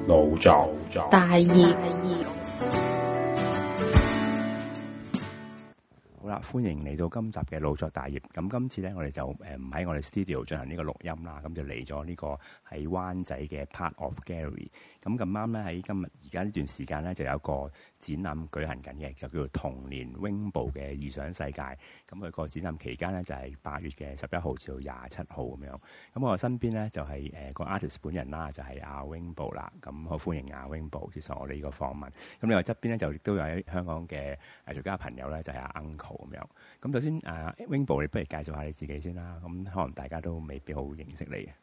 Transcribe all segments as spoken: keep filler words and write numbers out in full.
腦作大業。 好啦，歡迎嚟到今集嘅腦作大業。咁今次咧，我哋就誒唔喺我哋 studio 進行呢個錄音啦，咁就嚟咗呢個喺灣仔嘅 Part of Gallery。咁咁啱咧，喺今日而家呢段時間咧，就有一個展覽舉行緊嘅，就叫做童年 Wingbo 嘅異想世界。咁佢個展覽期間咧，就係八月嘅十一號至到廿七號咁樣。咁我身邊咧就係誒個 artist 本人啦，就係阿 Wingbo 啦。咁好歡迎阿 Wingbo 接受我哋呢個訪問。咁另外側邊咧就亦都有喺香港嘅藝術家朋友咧，就係阿 Uncle 咁樣。咁首先誒 Wingbo，你不如介紹下你自己先啦。咁可能大家都未必好認識你。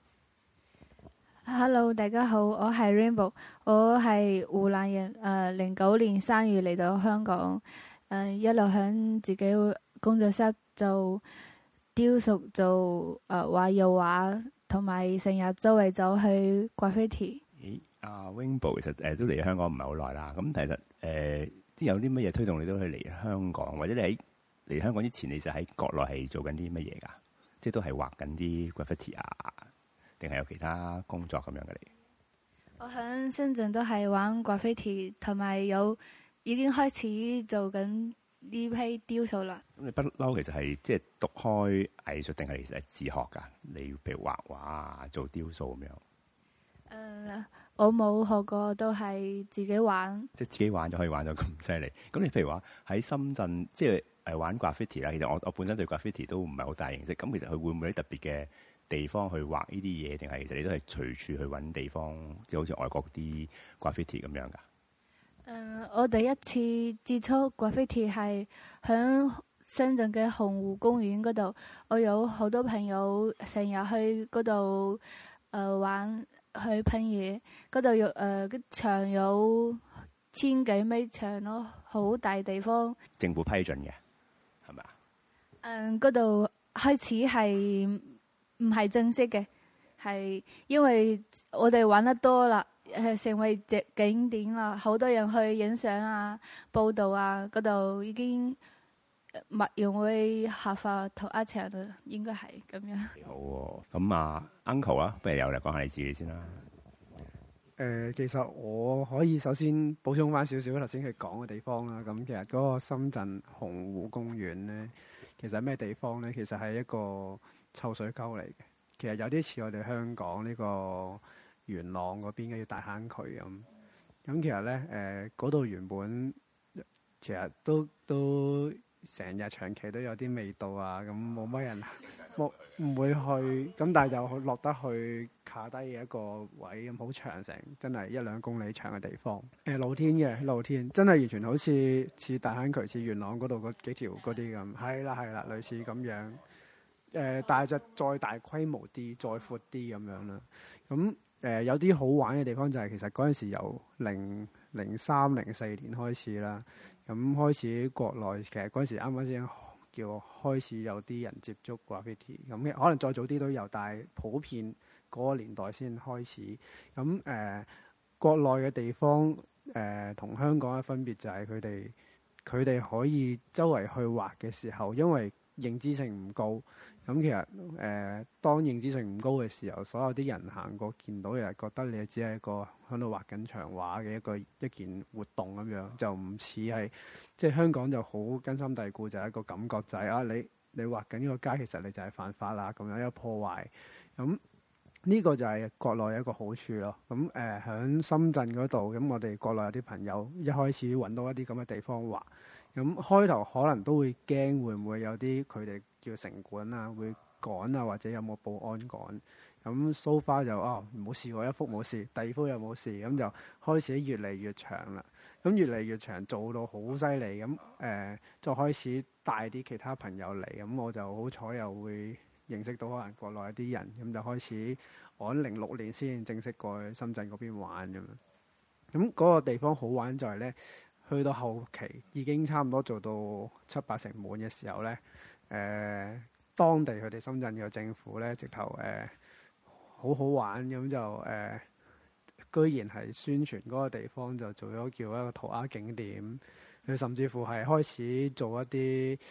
Hello， 大家好，我係 Rainbow， 我係湖南人。誒，零九年三月嚟到香港，誒、呃、一路響自己工作室做雕塑，做誒畫油畫，同埋成日周圍走去 graffiti。 咦，阿 Wingbo 其實誒、呃、都嚟香港唔係好耐啦。咁其實誒，即、呃、有啲乜嘢推動你都去嚟香港，或者你喺嚟香港之前，你就喺國內係做緊啲乜嘢㗎？即係都係畫緊啲 graffiti 啊？定係有其他工作咁樣嘅你？ 我喺深圳都係玩 graffiti， 同埋有已經開始做緊呢批雕塑啦。咁你不嬲其實係即係讀開藝術，定係其實係自學㗎？你譬如畫畫啊，做雕塑咁樣。誒、 呃，我冇學過，都係自己玩。即係自己玩就可以玩到咁犀利。咁你譬如話喺深圳，即係誒玩 graffiti 啦。其實我我本身對 graffiti 都唔係好大認識。咁其實佢會唔會有啲特別嘅地方去畫呢啲嘢，定係其實你都係隨處去揾地方，即係好似外國啲 graffiti 咁樣㗎？誒、 呃，我第一次接觸 graffiti 係響深圳嘅洪湖公園嗰度。我有好多朋友成日去嗰度誒玩，去噴嘢。嗰度有誒個場有千幾米長咯，好大地方。 政府批准嘅係咪啊？ 誒，嗰度開始係唔係正式嘅，係因為我哋玩得多啦，係成為隻景點啦，好多人去影相啊、報道啊，嗰度已經物用會合法同一場啦，應該係咁樣。 好喎，咁啊 Uncle 啊，不如由嚟講下你自己先啦。 誒、呃，其實我可以首先補充翻少少頭先佢講嘅地方啦。咁其實嗰個深圳洪湖公園咧，其實咩地方咧？其實係一個臭水溝嚟嘅。其實有啲似我哋香港呢個元朗嗰邊嘅大坑渠咁。咁其實咧，誒嗰度原本其實都都成日長期都有啲味道啊，咁冇乜人冇唔會去。咁但係就落得去卡低嘅一個位，咁好長，成真係一兩公里長嘅地方。誒、呃、露天嘅露天，真係完全好似似大坑渠、似元朗嗰度嗰幾條嗰啲咁。係啦係啦，類似咁樣。誒、呃，但係就再大規模啲、再闊啲咁樣啦。咁誒、呃、有啲好玩嘅地方就係、是、其實嗰陣時由零零三零四年開始啦。咁開始國內其實嗰陣時啱啱先叫開始有啲人接觸 graffiti。咁可能再早啲都有，但係普遍嗰個年代先開始。咁誒、呃、國內嘅地方誒同、呃、香港嘅分別就係佢哋佢哋可以周圍去畫嘅時候，因為認知性唔高。咁其實誒、呃，當認知性唔高嘅時候，所有啲人行過見到，又係覺得你只係一個喺度畫緊牆畫嘅一個一件活動咁樣，就唔似係即係香港就好根深蒂固，就係一個感覺就係、是、啊，你你畫緊呢個街，其實你就係犯法啦，咁樣一個破壞。咁呢個就係國內一個好處咯。咁誒喺深圳嗰度，咁我哋國內有啲朋友一開始揾到一啲咁嘅地方畫。咁開頭可能都會驚，會唔會有啲佢哋叫城管啊，會趕啊，或者有冇保安趕？咁 so far 就哦冇試過一幅冇事，第二幅又冇事，咁就開始越嚟越長啦。咁越嚟越長，做到好犀利。咁誒、呃，再開始帶啲其他朋友嚟，咁我就好彩又會認識到可能國內一啲人，咁就開始我喺零六年先正式過去深圳嗰邊玩咁樣。咁嗰個地方好玩就係咧。去到後期已經差唔多做到七八成滿嘅時候咧，誒、呃、當地佢哋深圳嘅政府咧，直頭誒、呃、好好玩咁就誒、呃，居然係宣傳嗰個地方就做咗叫一個塗鴉景點。佢甚至乎係開始做一啲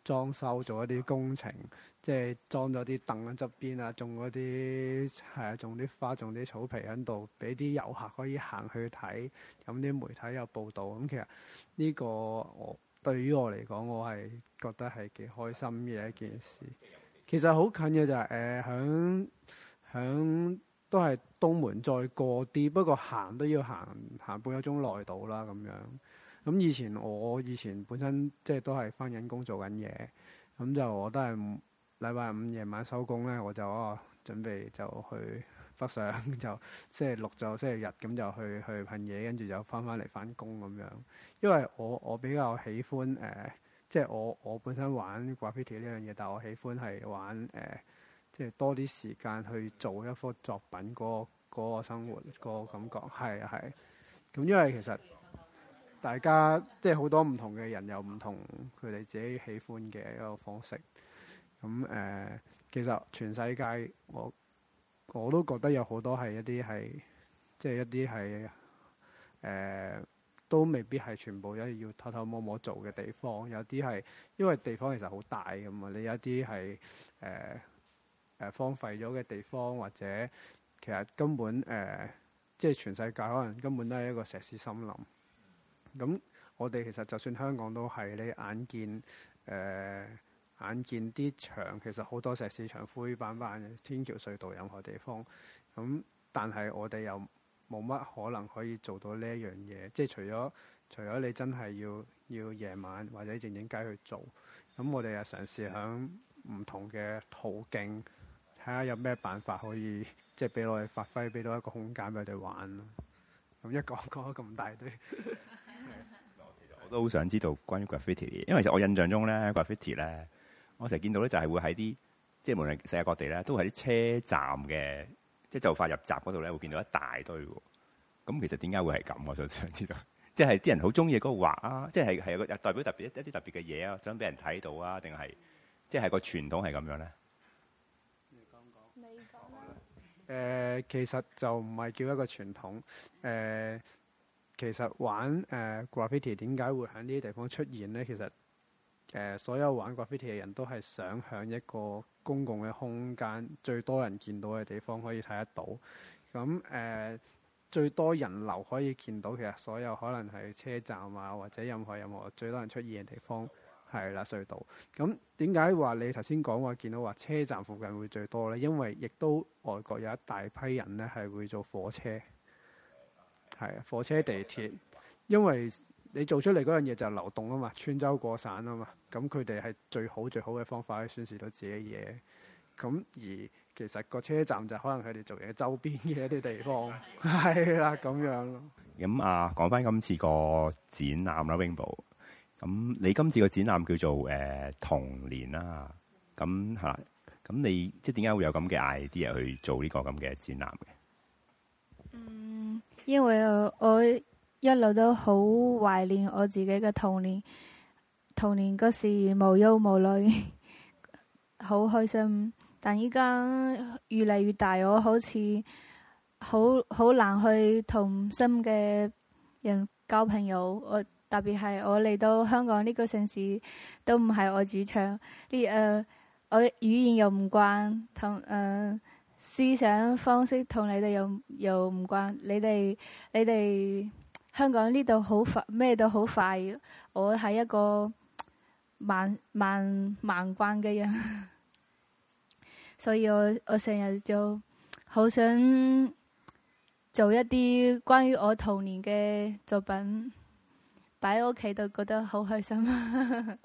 裝修，做一啲工程，即係裝咗啲凳喺側邊啊，種嗰啲係啊，種啲花，種啲草皮喺度，俾啲遊客可以行去睇。咁啲媒體有報導，咁其實呢個我對於我嚟講，我係覺得係幾開心嘅一件事。其實好近嘅就係誒響響都係東門再過啲，不過行都要行行半個鐘內到啦咁樣。咁以前我以前本身即係都係返緊工做緊嘢，咁就我都係禮拜五夜晚收工咧，我就哦準備就去北上，就星期六就星期日咁就去去噴嘢，跟住就返返嚟返工咁樣。因為我我比較喜歡誒、呃，即係我我本身玩 graffiti 呢樣嘢，但係我喜歡係玩誒、呃，即係多啲時間去做一幅作品嗰個嗰個生活嗰個感覺係啊係。咁因為其實大家即係好多唔同嘅人有唔同佢哋自己喜歡嘅一個方式。咁誒、呃，其實全世界我我都覺得有好多係一啲係即係一啲係誒，都未必係全部一要偷偷摸摸做嘅地方。有啲係因為地方其實好大㗎嘛，你有一啲係誒誒荒廢咗嘅地方，或者其實根本誒、呃、即係全世界可能根本都係一個石屎森林。咁我哋其實就算香港都係，你眼見誒、呃、眼見啲牆其實好多石屎牆灰板板嘅，天橋隧道任何地方。咁但係我哋又冇乜可能可以做到呢一樣嘢，即係除咗除咗你真係要要夜晚或者靜靜雞去做。咁我哋又嘗試響唔同嘅途徑睇下有咩辦法可以即係俾我哋發揮，俾到一個空間俾佢哋玩咯。咁一講講咗咁大堆。 我都好想知道關於 graffiti， 因為其實我印象中咧 graffiti 咧，我成日見到咧就係會喺啲即係無論世界各地咧，都喺啲車站嘅即係就快入閘嗰度咧，會見到一大堆喎。咁其實點解會係咁？我想想知道，即係啲人好中意嗰個畫啊，即係係有個代表特別一啲特別嘅嘢啊，想俾人睇到啊，定係即係個傳統係咁樣咧？ 你講講，你講啦。 誒，其實就唔係叫一個傳統誒。呃其實玩誒、呃、graffiti 點解會喺呢啲地方出現呢？其實誒、呃、所有玩 graffiti 嘅人都係想喺一個公共嘅空間，最多人見到嘅地方可以睇得到。咁誒、呃、最多人流可以見到，其實所有可能係車站啊，或者任何任何最多人出現嘅地方係啦，隧道。咁點解話你頭先講話見到話車站附近會最多呢？因為亦都外國有一大批人呢係會做火車。係啊，火車、地鐵，因為你做出嚟嗰樣嘢就流動啊嘛，穿州過省啊嘛，咁佢哋係最好最好嘅方法去宣示到自己嘢。咁而其實個車站就可能佢哋做嘢周邊嘅一啲地方，係啦咁樣咯。 咁啊，講翻今次個展覽啦，Rainbow。咁你今次個展覽叫做誒、呃、童年啦，咁係啦，咁你即係點解會有咁嘅 idea 去做呢個咁嘅展覽嘅？ 嗯，因為我，我一路都好懷念我自己嘅童年，童年嗰時無憂無慮，好開心。但依家越嚟越大，我好似好好難去同新嘅人交朋友。我特別係我嚟到香港呢個城市，都唔係我主場。呢誒、呃，我語言又唔慣，同誒。呃思想方式同你哋又又唔慣，你哋你哋香港呢度好快，咩都好快。我係一個慢慢慢慣嘅人，所以我我成日就好想做一啲關於我童年嘅作品，擺喺屋企度覺得好開心。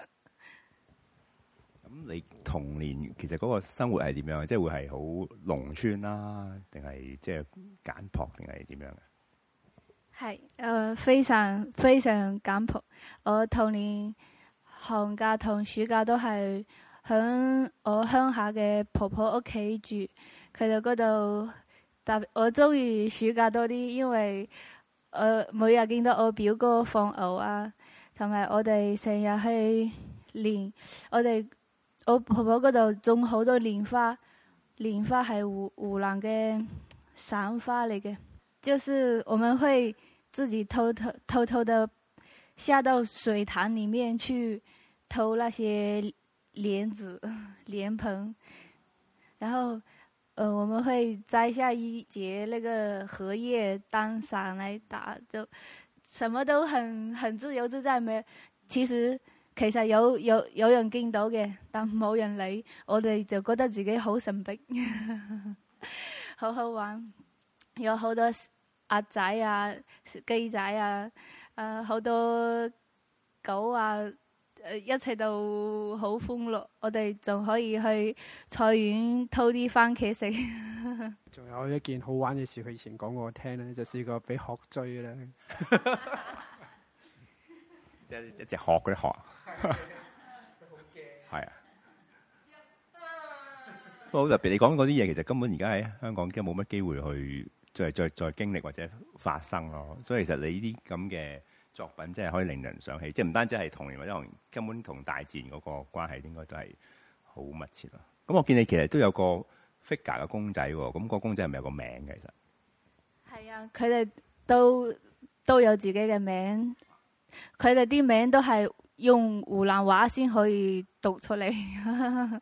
咁你童年其實嗰個生活係點樣？即係會係好農村啦，定係即係簡樸，定係點樣嘅？係誒、 呃，非常非常簡樸。我童年寒假同暑假都係響我鄉下嘅婆婆屋企住，佢哋嗰度特別我中意暑假多啲，因為我每日見到我表哥放牛啊，同埋我哋成日去練我哋。我婆婆嗰度種好多蓮花，蓮花係湖湖南嘅省花嚟嘅，就是我們會自己偷偷偷偷的下到水塘裏面去偷那些蓮子、蓮蓬，然後，呃，我們會摘下一節那個荷葉當傘來打，就什麼都很很自由自在。沒，其實其實有有有人見到嘅，但冇人理，我哋就覺得自己好神秘，好好玩，有好多鴨仔啊、雞仔啊，誒、呃，好多狗啊。誒，一切都好歡樂，我哋仲可以去菜園偷啲番茄食。 仲有一件好玩嘅事，佢以前講過我聽咧，就試過俾鶴追咧。 即係一隻鶴嗰啲鶴。係啊。不過好特別，你講嗰啲嘢其實根本而家喺香港已經冇乜機會去再再再經歷或者發生咯。所以其實你呢啲咁嘅作品真係可以令人想起，即係唔單止係童年，或者可能根本同大自然嗰個關係應該都係好密切咯。咁我見你其實都有個 figure 嘅公仔喎，咁個公仔係咪有個名嘅？其實係啊，佢哋都都有自己嘅名，佢哋啲名都係用湖南話先可以讀出嚟。誒、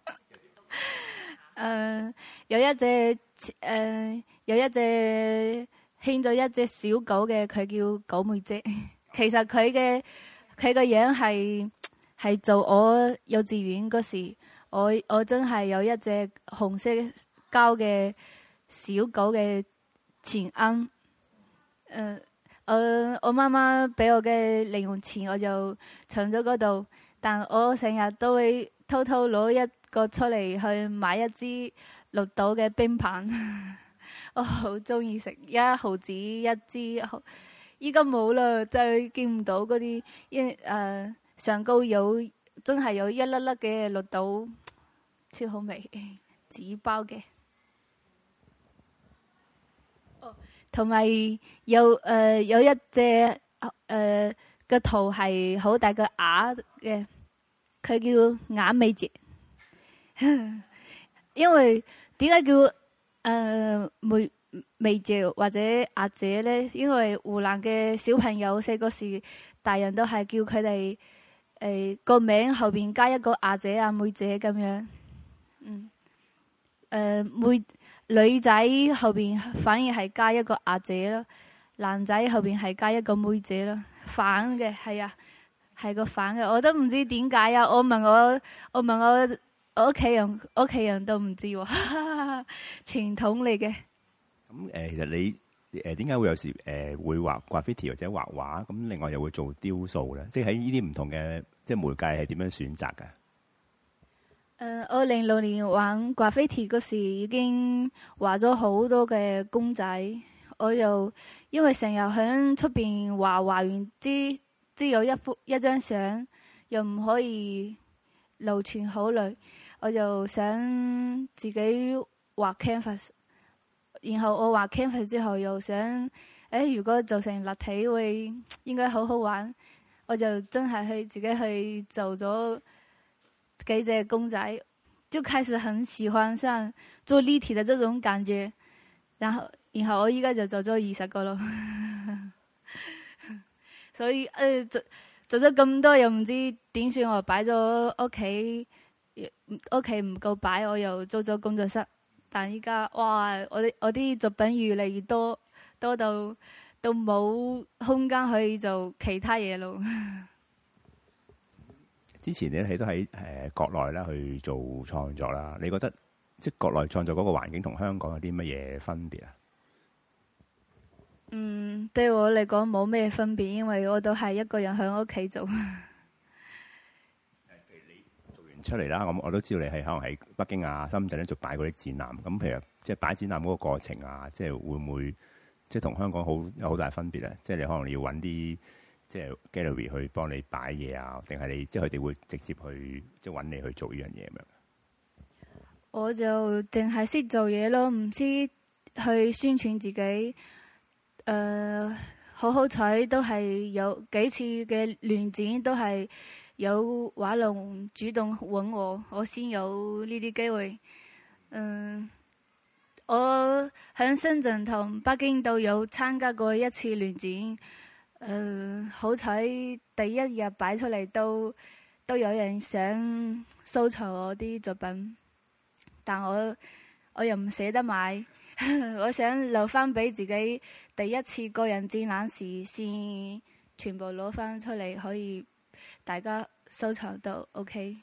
呃，有一隻誒、呃，有一隻牽咗一隻小狗嘅，佢叫狗妹姐。其實佢嘅佢個樣係係做我幼稚園嗰時，我我真係有一隻紅色膠嘅小狗嘅錢罌。誒，我我媽媽俾我嘅零用錢，我就藏咗嗰度。但我成日都會偷偷攞一個出嚟去買一支綠島嘅冰棒，我好中意食，一毫子一支。依家冇啦，就係見唔到嗰啲一誒上高有真係有一粒粒嘅綠島，超好味，紙包嘅。哦，同埋有誒、呃、有一隻誒個頭係好大個鴨嘅，佢叫鴨尾姐。因為點解叫誒、呃、妹？妹姐或者阿姐咧，因為湖南嘅小朋友細個時，大人都係叫佢哋誒個名後邊加一個阿姐啊、妹姐咁樣。嗯，誒、呃、妹女仔後邊反而係加一個阿姐咯，男仔後邊係加一個妹姐咯，反嘅係啊，係個反嘅，我都唔知點解啊！我問我，我問我我屋企人，屋企人都唔知喎，傳統嚟嘅。 咁誒、呃，其實你誒點解會有時誒、呃、會畫 graffiti 或者畫畫？咁另外又會做雕塑咧？即係喺呢啲唔同嘅即係媒介係點樣選擇㗎？誒、 呃，我零六年玩 graffiti 嗰時已經畫咗好多嘅公仔。我又因為成日喺出邊畫，畫完之之有一幅一張相，又唔可以流傳好耐，我就想自己畫 canvas。然後我畫 canvas 之後又想，誒如果做成立體會應該好好玩，我就真係去自己去做咗幾隻公仔，就開始很喜歡上做立體的這種感覺。然後然後我依家就做咗二十個咯，所以誒、呃、做做咗咁多又唔知點算，我擺咗屋企，屋企唔夠擺，我又租咗工作室。但依家哇，我啲我啲作品越嚟越多，多到都冇空間去做其他嘢咯。 之前你都喺誒國內啦去做創作啦，你覺得即係國內創作嗰個環境同香港有啲乜嘢分別啊？ 嗯，對我嚟講冇咩分別，因為我都係一個人喺屋企做。 出嚟啦，咁我都知道你係可能喺北京啊、深圳咧做擺嗰啲展覽。咁譬如即係擺展覽嗰個過程啊，即係會唔會即係同香港好有好大分別咧？即係你可能你要揾啲即係 gallery 去幫你擺嘢啊，定係你即係佢哋會直接去即係揾你去做呢樣嘢咁樣？ 我就淨係識做嘢咯，唔知去宣傳自己。誒、呃，好好彩都係有幾次嘅聯展都係。有畫廊主動揾我，我先有呢啲機會。嗯，我喺深圳同北京都有參加過一次聯展。嗯，好彩第一日擺出嚟都都有人想收藏我啲作品，但我我又唔捨得買，我想留翻俾自己第一次個人展覽時先全部攞翻出嚟，可以大家收藏到 OK。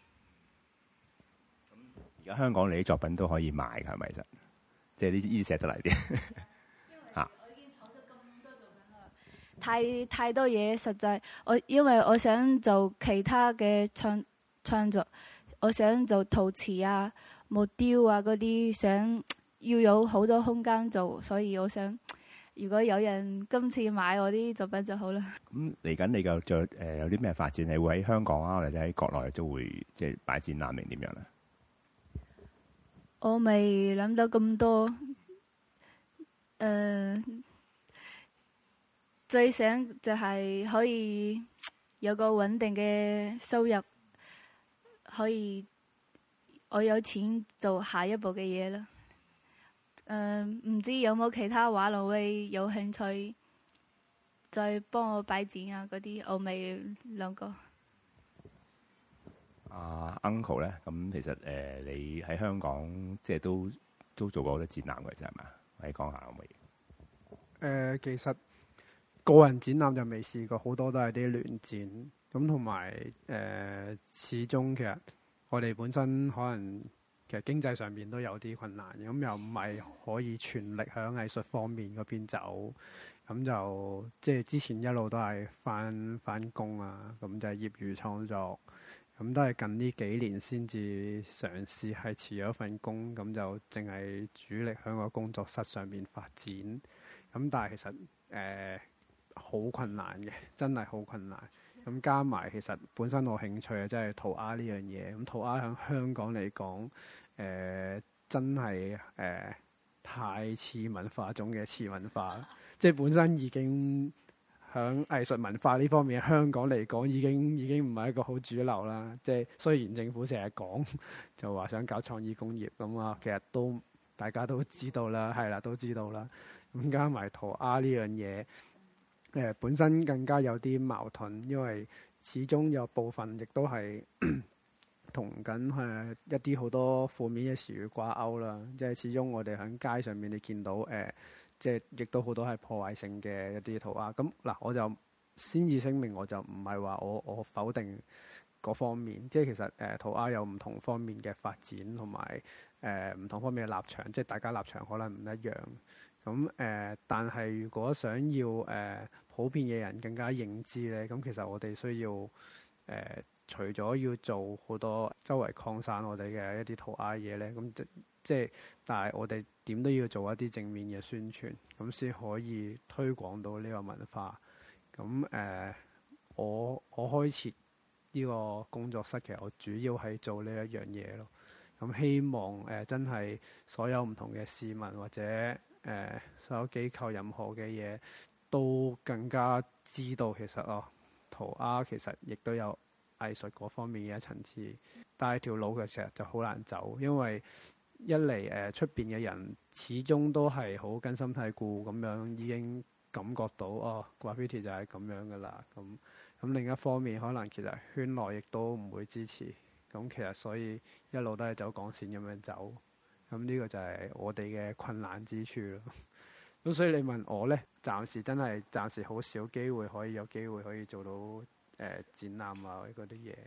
而家香港你啲作品都可以賣㗎，係咪？其實即係呢啲寫得嚟啲。嚇！ 我已經儲咗咁多作品啦，太太多嘢，實在我因為我想做其他嘅創創作，我想做陶瓷啊、木雕啊嗰啲，想要有好多空間做，所以我想如果有人今次買我啲作品就好啦。 咁嚟緊你嘅再誒有啲咩發展？你會喺香港啊，或者喺國內都會即係擺展覽定點樣咧？ 我未諗到咁多，誒、呃，最想就係可以有個穩定嘅收入，可以我有錢做下一步嘅嘢啦。誒、呃，唔知有冇其他畫廊會有興趣再幫我擺展啊？嗰啲我未諗過。 阿、uh, Uncle 咧，咁其實誒、呃、你喺香港即係都都做過好多展覽嘅，啫係嘛？你講下可唔可以？誒、 呃，其實個人展覽就未試過，好多都係啲聯展咁，同埋誒始終其實我哋本身可能其實經濟上面都有啲困難，咁又唔係可以全力喺藝術方面嗰邊走，咁就即係之前一路都係返返工啊，咁就係業餘創作。咁都係近呢幾年先至嘗試係辭咗份工，咁就淨係主力喺個工作室上面發展。咁但係其實誒好、呃、困難嘅，真係好困難。咁加埋其實本身我興趣嘅即係塗鴉呢樣嘢。咁塗鴉喺香港嚟講，誒、呃、真係誒、呃、太次文化中嘅次文化，即係本身已經。喺藝術文化呢方面，香港嚟講已經已經唔係一個好主流啦。即係雖然政府成日講就話想搞創意工業咁啊，其實都大家都知道啦，係啦，都知道啦。咁加埋塗鴉呢樣嘢，誒、呃、本身更加有啲矛盾，因為始終有部分亦都係同緊誒一啲好多負面嘅詞語掛鈎啦。即係始終我哋喺街上面你見到誒。呃即係亦都好多係破壞性嘅一啲塗鴉。咁嗱，我就先至聲明，我就唔係話我我否定嗰方面。即係其實誒塗鴉有唔同方面嘅發展，同埋誒唔同方面嘅立場。即係大家立場可能唔一樣。咁誒、呃，但係如果想要誒、呃、普遍嘅人更加認知咧，咁其實我哋需要誒、呃、除咗要做好多周圍擴散我哋嘅一啲塗鴉嘢咧，咁即即係，但係我哋點都要做一啲正面嘅宣傳，咁先可以推廣到呢個文化。咁誒、呃，我我開設呢個工作室，其實我主要係做呢一樣嘢咯。咁希望誒、呃、真係所有唔同嘅市民或者誒、呃、所有機構任何嘅嘢，都更加知道其實哦，塗鴉其實亦都有藝術嗰方面嘅一層次。但係條路嘅時候就好難走，因為一嚟誒出邊嘅人始終都係好根深蒂固咁樣，已經感覺到哦，graffiti就係咁樣噶啦。咁咁另一方面，可能其實圈內亦都唔會支持。咁其實所以一路都係走港線咁樣走。咁呢個就係我哋嘅困難之處咯。咁所以你問我呢，暫時真係暫時好少機會可以有機會可以做到誒、呃、展覽啊嗰啲嘢。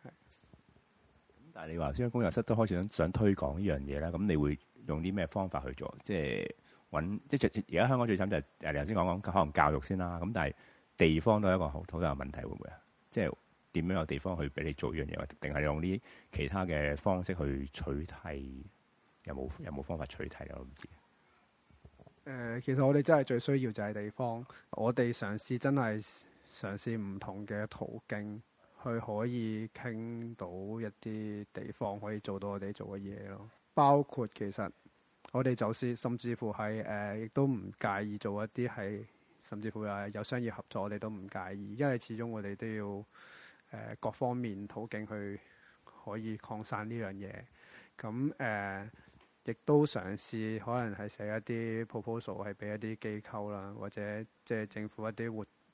但係你話先工作室都開始想想推廣呢樣嘢啦，咁你會用啲咩方法去做？即係揾即係而家香港最慘就係誒你頭先講講可能教育先啦，咁但係地方都係一個好好大嘅問題，會唔會啊？即係點樣有地方去俾你做呢樣嘢，定係用啲其他嘅方式去取替？有冇有冇方法取替啊？我唔知。誒、 呃，其實我哋真係最需要就係地方，我哋嘗試真係嘗試唔同嘅途徑。佢可以傾到一啲地方可以做到我哋做嘅嘢咯，包括其實我哋就是甚至乎係誒，亦、呃、都唔介意做一啲係，甚至乎係有商業合作，我哋都唔介意，因為始終我哋都要誒、呃、各方面途徑去可以擴散呢樣嘢。咁誒，亦、呃、都嘗試可能係寫一啲 proposal 係俾一啲機構啦，或者即係政府一啲活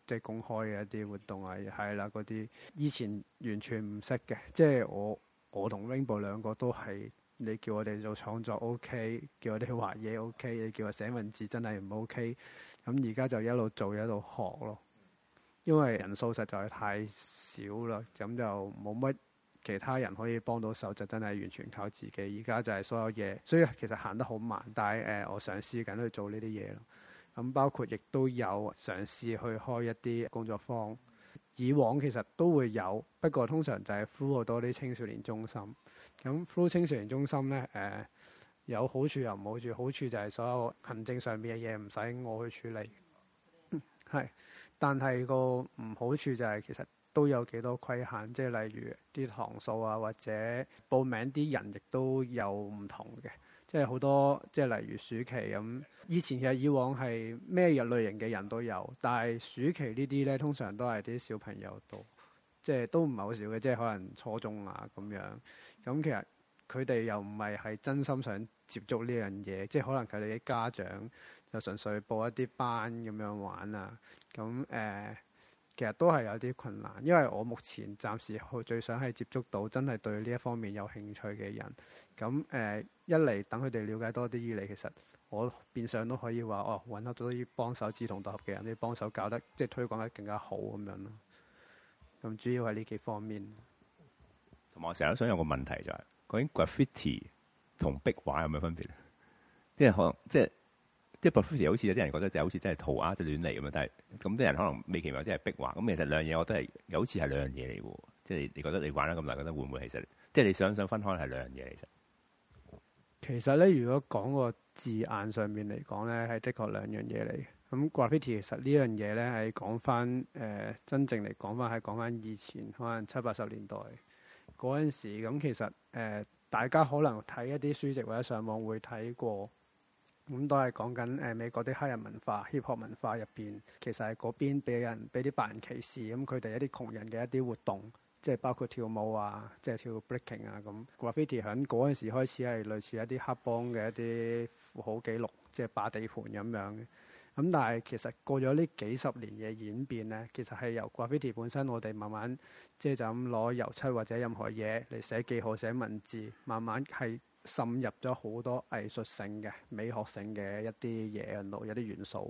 即係公開嘅一啲活動啊，係啦嗰啲以前完全唔識嘅，即係我我同 Rainbow 兩個都係你叫我哋做創作 OK， 叫我哋畫嘢 OK， 你叫我寫文字真係唔 OK。咁而家就一路做一路學咯，因為人數實在太少啦，咁就冇乜其他人可以幫到手，就真係完全靠自己。而家就係所有嘢，所以其實行得好慢，但係誒、呃、我嘗試緊去做呢啲嘢咯。咁包括亦都有嘗試去開一啲工作坊，以往其實都會有，不過通常就係 through 好多啲青少年中心。咁 through 青少年中心咧，誒、呃、有好處又唔好處。好處就係所有行政上面嘅嘢唔使我去處理，係、嗯。但係個唔好處就係其實都有幾多規限，即係例如啲堂數啊，或者報名啲人亦都有唔同嘅。即係好多，即係例如暑期咁。以前其實以往係咩日類型嘅人都有，但係暑期呢啲咧，通常都係啲小朋友多，即係都唔係好少嘅，即係可能初中啊咁樣。咁其實佢哋又唔係係真心想接觸呢樣嘢，即係可能佢哋啲家長就純粹報一啲班咁樣玩啊。咁誒、呃，其實都係有啲困難，因為我目前暫時最想係接觸到真係對呢一方面有興趣嘅人。咁誒、呃，一嚟等佢哋了解多啲，二嚟其實我變相都可以話哦，揾到啲幫手志同道合嘅人，啲幫手搞得即係推廣得更加好咁樣咯。咁主要係呢幾方面。 同埋我成日都想有個問題就係、是，究竟 graffiti 同壁畫有咩分別咧？即係可能即係即係 graffiti 好似有啲人覺得就好似真係塗鴉即係亂嚟咁樣，但係咁啲人可能未期望即係壁畫。咁其實兩樣嘢我都係好似係兩樣嘢嚟喎。即係你覺得你玩咗咁耐，覺得會唔會其實即係你想想分開係兩樣嘢其實？ 其實咧，如果講個字眼上面嚟講咧，係的確兩樣嘢嚟嘅。咁 graffiti 其實呢樣嘢咧係講翻誒真正嚟講翻係講翻以前可能七八十年代嗰陣時。咁其實誒、呃、大家可能睇一啲書籍或者上網會睇過，咁都係講緊誒美國啲黑人文化、hip hop 文化入邊，其實係嗰邊俾人俾啲白人歧視，咁佢哋一啲窮人嘅一啲活動。即係包括跳舞啊，即係跳 breaking 啊咁。Graffiti 喺嗰陣時開始係類似一啲黑幫嘅一啲富豪記錄，即係霸地盤咁樣嘅。咁但係其實過咗呢幾十年嘅演變咧，其實係由 Graffiti 本身我哋慢慢即係就咁攞油漆或者任何嘢嚟寫記號、寫文字，慢慢係滲入咗好多藝術性嘅、美學性嘅一啲嘢喺度，有啲元素。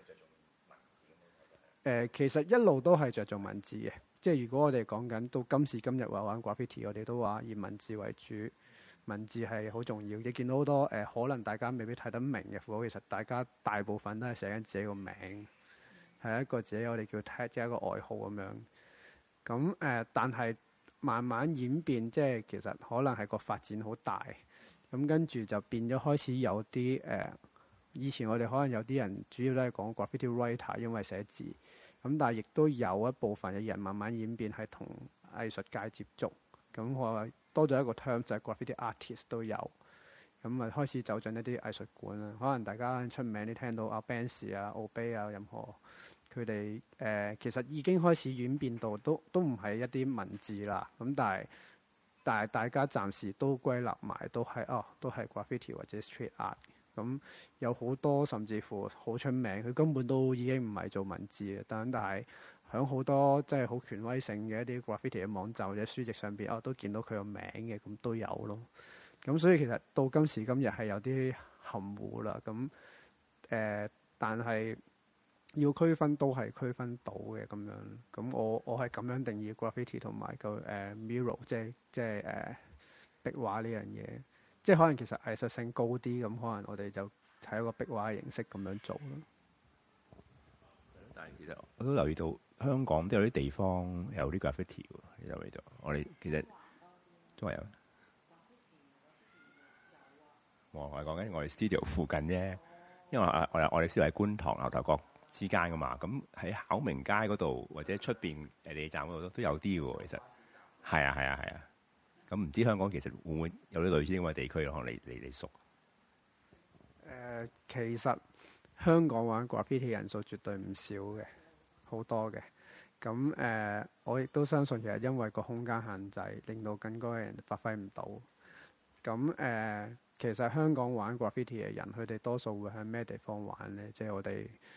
誒、呃，其實一路都係着重文字嘅。即係如果我哋講緊到今時今日話玩 graffiti，我哋都話以文字為主，文字係好重要。你見到好多誒、呃，可能大家未必睇得明嘅符號，其實大家大部分都係寫緊自己個名，係一個自己我哋叫 tag 嘅一個外號咁樣。咁誒、呃，但係慢慢演變，即係其實可能係個發展好大。咁跟住就變咗開始有啲誒、呃，以前我哋可能有啲人主要都係講 graffiti writer，因為寫字。咁但係亦都有一部分嘅人慢慢演變係同藝術界接觸，咁我多咗一個 term 就係 graffiti artist 都有，咁啊開始走進一啲藝術館啦。可能大家出名啲聽到阿 Banksy 啊、Obey 啊，任何佢哋誒其實已經開始演變到都都唔係一啲文字啦。咁但係但係大家暫時都歸納埋都係哦，都係 graffiti 或者 street art。咁有好多甚至乎好出名，佢根本都已經唔係做文字嘅，但但係喺好多即係好權威性嘅一啲 graffiti 嘅網站或者書籍上邊，哦都見到佢個名嘅，咁都有咯。咁所以其實到今時今日係有啲含糊啦。咁誒、呃，但係要區分都係區分到嘅咁樣。咁我我係咁樣定義 graffiti 同埋個誒 mural，即係即係誒、呃、壁畫呢樣嘢。即係可能其實藝術性高啲，咁可能我哋就睇一個壁畫嘅形式咁樣做咯。 但係其實我都留意到香港都有啲地方有啲 graffiti 喎，你留意到？我哋其實中環有。我我係講緊我哋 studio 附近啫，因為我我我哋 studio 喺觀塘牛頭角之間噶嘛，咁喺考明街嗰度或者出邊誒地鐵站嗰度都都有啲喎，其實係啊係啊係啊。咁唔知香港其實會唔會有啲類似咁嘅地區咯？可能你你你熟？ 誒、呃，其實香港玩 graffiti 人數絕對唔少嘅，好多嘅。咁誒、呃，我亦都相信其實因為個空間限制，令到更多嘅人發揮唔到。咁誒、呃，其實香港玩 graffiti 嘅人，佢哋多數會喺咩地方玩咧？即係我哋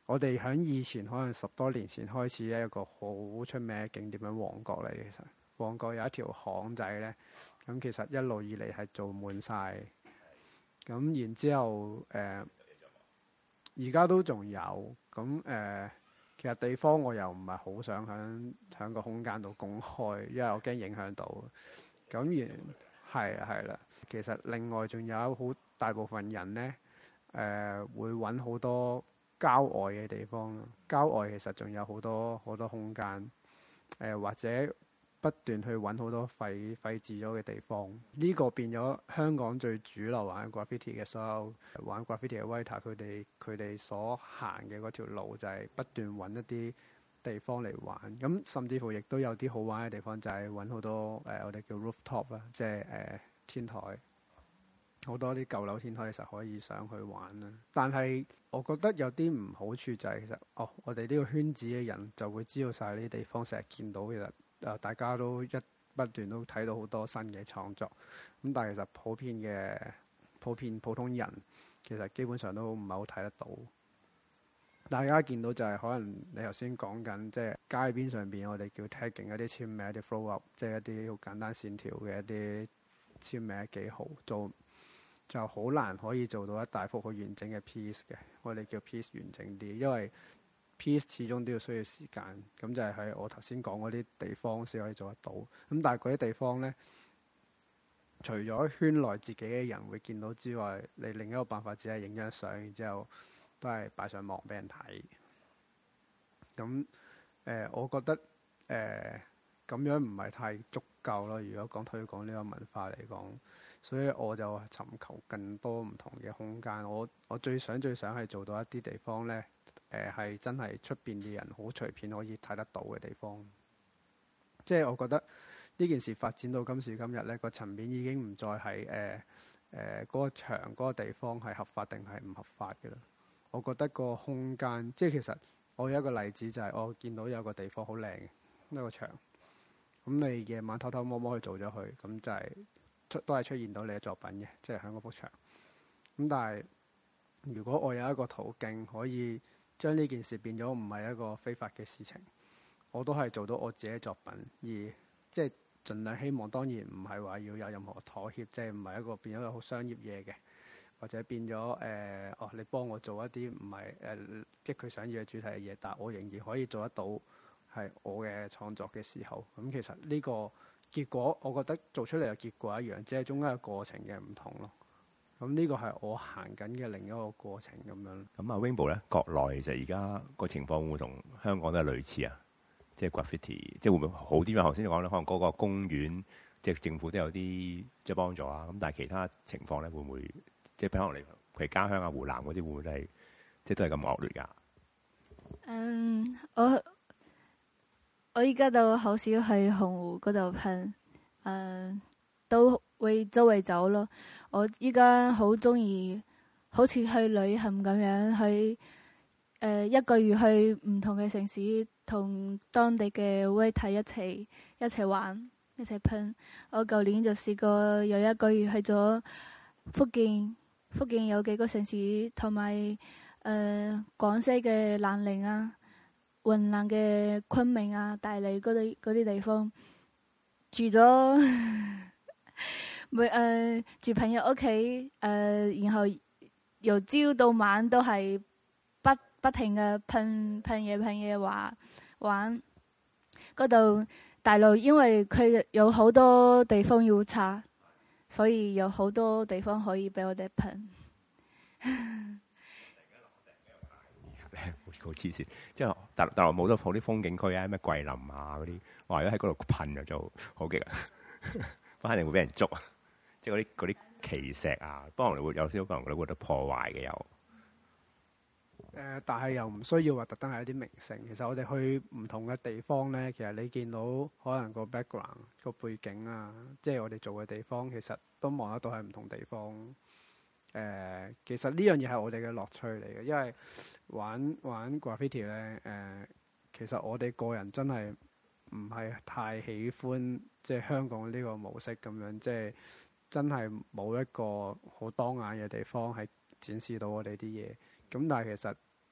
我哋喺以前可能十多年前開始一個好出名嘅景點喺旺角嚟。其實旺角有一條巷仔咧，咁其實一路以嚟係做滿晒。咁然之後誒，而家都仲有咁誒、呃。其實地方我又唔係好想喺喺個空間度公開，因為我驚影響到。咁然係啊係啦。其實另外仲有好大部分人咧，誒、呃、會揾好多郊外嘅地方咯。郊外其實仲有好多好多空間，誒、呃、或者不斷去揾好多廢廢置咗嘅地方。呢、這個變咗香港最主流玩 graffiti 嘅所有玩 graffiti 嘅 writer，佢哋佢哋所行嘅嗰條路就係不斷揾一啲地方嚟玩。咁甚至乎亦都有啲好玩嘅地方，就係揾好多誒、呃、我哋叫 rooftop 啦，即係誒天台。好多啲舊樓天台其實可以上去玩啦。但係我覺得有啲唔好處就係其實哦，我哋呢個圈子嘅人就會知道晒呢啲地方，成日見到其實。誒，大家都一不斷都睇到好多新嘅創作，咁但係其實普遍嘅普遍普通人其實基本上都唔係好睇得到。大家見到就係可能你頭先講緊，即係街邊上邊我哋叫 tagging 一啲簽名、一啲 flow up，即係一啲好簡單線條嘅一啲簽名記號，做就好難可以做到一大幅好完整嘅 piece 嘅。我哋叫 piece 完整啲，因為piece 始終都要需要時間，咁就係喺我頭先講嗰啲地方先可以做得到。咁但係嗰啲地方呢，除咗圈內自己嘅人會見到之外，你另一個辦法只係影張相，然之後都係擺上網俾人睇。咁誒、呃，我覺得誒咁、呃、樣唔係太足夠咯。如果講推廣呢個文化嚟講，所以我就尋求更多唔同嘅空間。我我最想最想係做到一啲地方呢。誒係、呃、真係出邊嘅人好隨便可以睇得到嘅地方，即係我覺得呢件事發展到今時今日呢個層面已經唔再係誒誒嗰個場嗰個地方係合法定係唔合法嘅啦。我覺得個空間，即係其實我有一個例子就係、是、我見到有個地方好靚嘅一個場，咁你夜晚偷偷摸摸去做咗佢，咁就係出都係出現到你嘅作品嘅，即係喺嗰幅牆。咁但係如果我有一個途徑可以將呢件事變咗唔係一個非法嘅事情，我都係做到我自己嘅作品，而即係盡量希望，當然唔係話要有任何妥協，即係唔係一個變咗一個好商業嘢嘅，或者變咗誒、呃、哦，你幫我做一啲唔係誒即係佢想要嘅主題嘅嘢，但我仍然可以做得到係我嘅創作嘅時候，咁其實呢個結果我覺得做出嚟嘅結果一樣，只係中間嘅過程嘅唔同咯。咁呢個係我行緊嘅另一個過程咁樣。 咁啊 Rainbow 咧，國內其實而家個情況會唔會同香港都係類似啊？即係 graffiti，即係會唔會好啲？因為頭先你講咧，可能嗰個公園即係政府都有啲即係幫助啊。咁但係其他情況咧，會唔會即係可能你譬如家鄉啊、湖南嗰啲，會唔會都係即係都係咁惡劣㗎？ 嗯，我我而家都好少去紅湖嗰度噴，誒都會周圍走咯。我依家好中意，好似去旅行咁樣，去誒、呃、一個月去唔同嘅城市，同當地嘅 waiter 一齊一齊玩，一齊噴。我舊年就試過有一個月去咗福建，福建有幾個城市，同埋誒廣西嘅南寧啊、雲南嘅昆明啊、大理嗰啲嗰啲地方住咗。每誒、呃、住朋友屋企，誒、呃、然後由朝到晚都係不不停嘅噴噴嘢噴嘢玩玩。嗰度大陸因為佢有好多地方要拆，所以有好多地方可以俾我哋噴。 好黐線，即係大陸大陸冇得好啲風景區啊，咩桂林啊嗰啲，話如果喺嗰度噴就好勁啊，不肯定會俾人捉啊！即係嗰啲嗰啲奇石啊，不過可能會有少少可能會覺得破壞嘅有。誒、 呃，但係又唔需要話特登係一啲名勝。其實我哋去唔同嘅地方咧，其實你見到可能個 background 個背景啊，即係我哋做嘅地方，其實都望得到係唔同地方。誒、呃，其實呢樣嘢係我哋嘅樂趣嚟嘅，因為玩玩 graffiti 咧，誒、呃，其實我哋個人真係唔係太喜歡即係香港呢個模式咁樣，即係。真係冇一個好當眼嘅地方係展示到我哋啲嘢，咁但係其實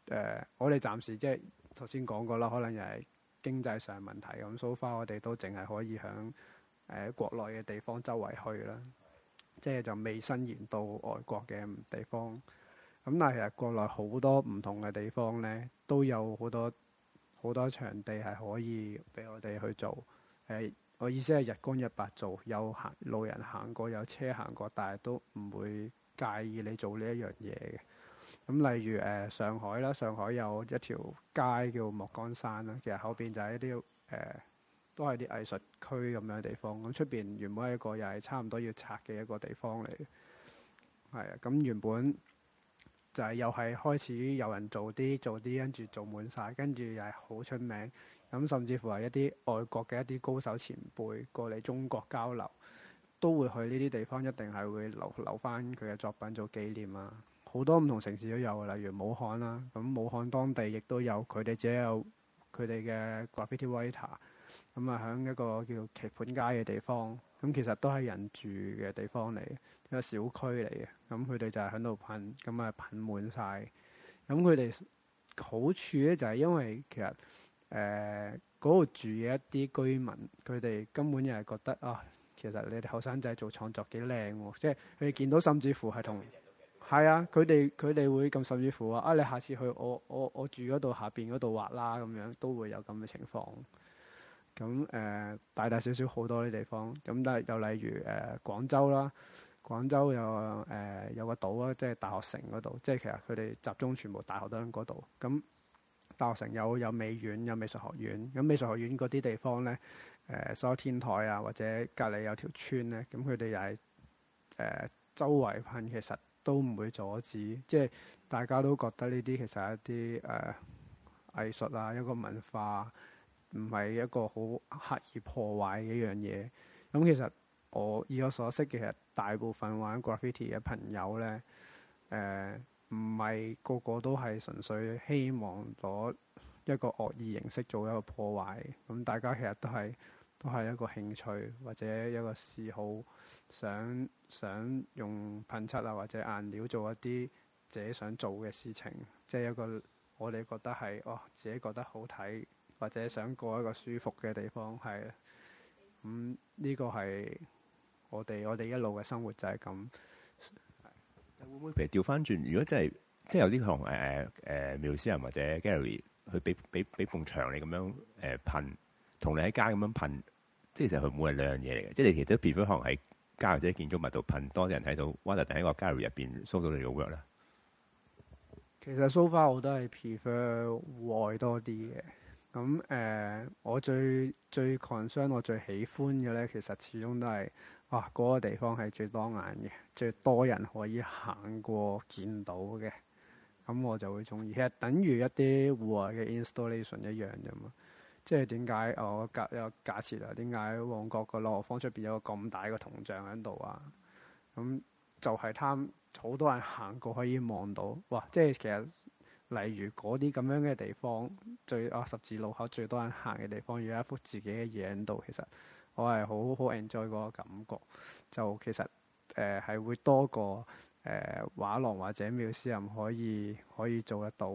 呃，我哋暫時即係頭先講過啦，可能又係經濟上問題咁。so far 我哋都淨係可以響誒、呃、國內嘅地方周圍去啦，即係就未伸延到外國嘅地方。咁但係其實國內好多唔同嘅地方咧，都有好多好多場地係可以俾我哋去做。誒、呃，我意思係日光日白做，有行路人行過，有車行過，但係都唔會介意你做呢一樣嘢嘅。咁例如誒、呃、上海啦，上海有一條街叫莫干山啦，其實後邊就係一啲誒、呃、都係啲藝術區咁樣嘅地方。咁出邊原本係一個又係差唔多要拆嘅一個地方嚟，係啊。咁原本就係又係開始有人做啲做啲，跟住做滿晒，跟住又係好出名。咁甚至乎係一啲外國嘅一啲高手前輩過嚟中國交流，都會去呢啲地方，一定係會留留翻佢嘅作品做紀念啊。好多唔同城市都有，例如武漢啦。咁武漢當地亦都有佢哋自己有佢哋嘅 graffiti writer。咁啊，喺一個叫棋盤街嘅地方，咁其實都係人住嘅地方嚟，一個小區嚟嘅。咁佢哋就係喺度噴，咁啊噴滿晒。咁佢哋好處咧就係因為其實誒嗰度住嘅一啲居民，佢哋根本就係覺得啊，其實你哋後生仔做創作幾靚喎，即係佢哋見到甚至乎係同。係啊，佢哋佢哋會咁，甚至乎話啊，你下次去我我我住嗰度下邊嗰度畫啦，咁樣都會有咁嘅情況。咁誒、呃、大大小小好多啲地方，咁但係又例如誒、呃、廣州啦，廣州有誒、呃、有個島啊，即係大學城嗰度，即係其實佢哋集中全部大學都喺嗰度。咁大學城有有美院，有美術學院。咁美術學院嗰啲地方咧，誒、呃、所有天台啊，或者隔離有條村咧，咁佢哋又係誒周圍噴，其實都唔會阻止，即係大家都覺得呢啲其實係一啲誒、呃、藝術啊，一個文化，唔係一個好刻意破壞嘅一樣嘢。咁其實我以我所識嘅，其實大部分玩 graffiti 嘅朋友咧，誒唔係個個都係純粹希望攞一個惡意形式做一個破壞。咁大家其實都係都係一個興趣或者一個嗜好，想想用噴漆啊或者顏料做一啲自己想做嘅事情，即係一個我哋覺得係哦自己覺得好睇或者想過一個舒服嘅地方，係咁呢個係我哋我哋一路嘅生活就係咁。 會唔會譬如調翻轉？如果真係即係有啲同誒誒 museum 或者 gallery 去俾俾俾埲牆你咁樣誒噴，同你喺街咁樣噴，即係其實佢冇係兩樣嘢嚟嘅。即係你其實都 prefer 可能喺街或者建築物度噴，多啲人睇到，或者喺個 gallery 入邊 show 到你嘅 work 咧。 其實 so far 我都係 prefer 戶外多啲嘅。咁誒、呃，我最最 concern 我最喜歡嘅咧，其實始終都係啊嗰、那個地方係最當眼嘅，最多人可以行過見到嘅。咁我就會中意。其實等於一啲戶外嘅 installation 一樣啫嘛。即係點解我假有假設啊？點解旺角個朗豪坊出邊有個咁大嘅銅像喺度啊？咁就係貪好多人行過可以望到。哇！即係其實。例如嗰啲咁樣嘅地方，最啊十字路口最多人行嘅地方，要有一幅自己嘅嘢喺度，其實我係好好 enjoy 嗰個感覺。就其實誒係、呃、會多過誒畫廊或者 museum 可以可以做得到。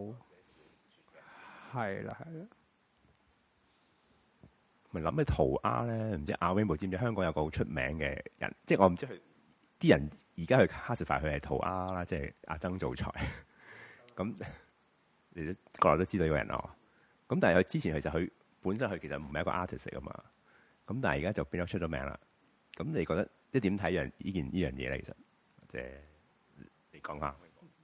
係啦，係啦。 咪諗起塗鴉咧，唔知阿 Rainbow 知唔知香港有個好出名嘅人？即係我唔知佢啲人而家去 classify 佢係塗鴉啦，即係阿曾造才咁。你都個個都知道呢個人咯，咁但係佢之前其實佢本身佢其實唔係一個 artist 嚟噶嘛，咁但係而家就變咗出咗名啦。咁你覺得即係點睇樣呢件呢樣嘢咧？其實即係你講下。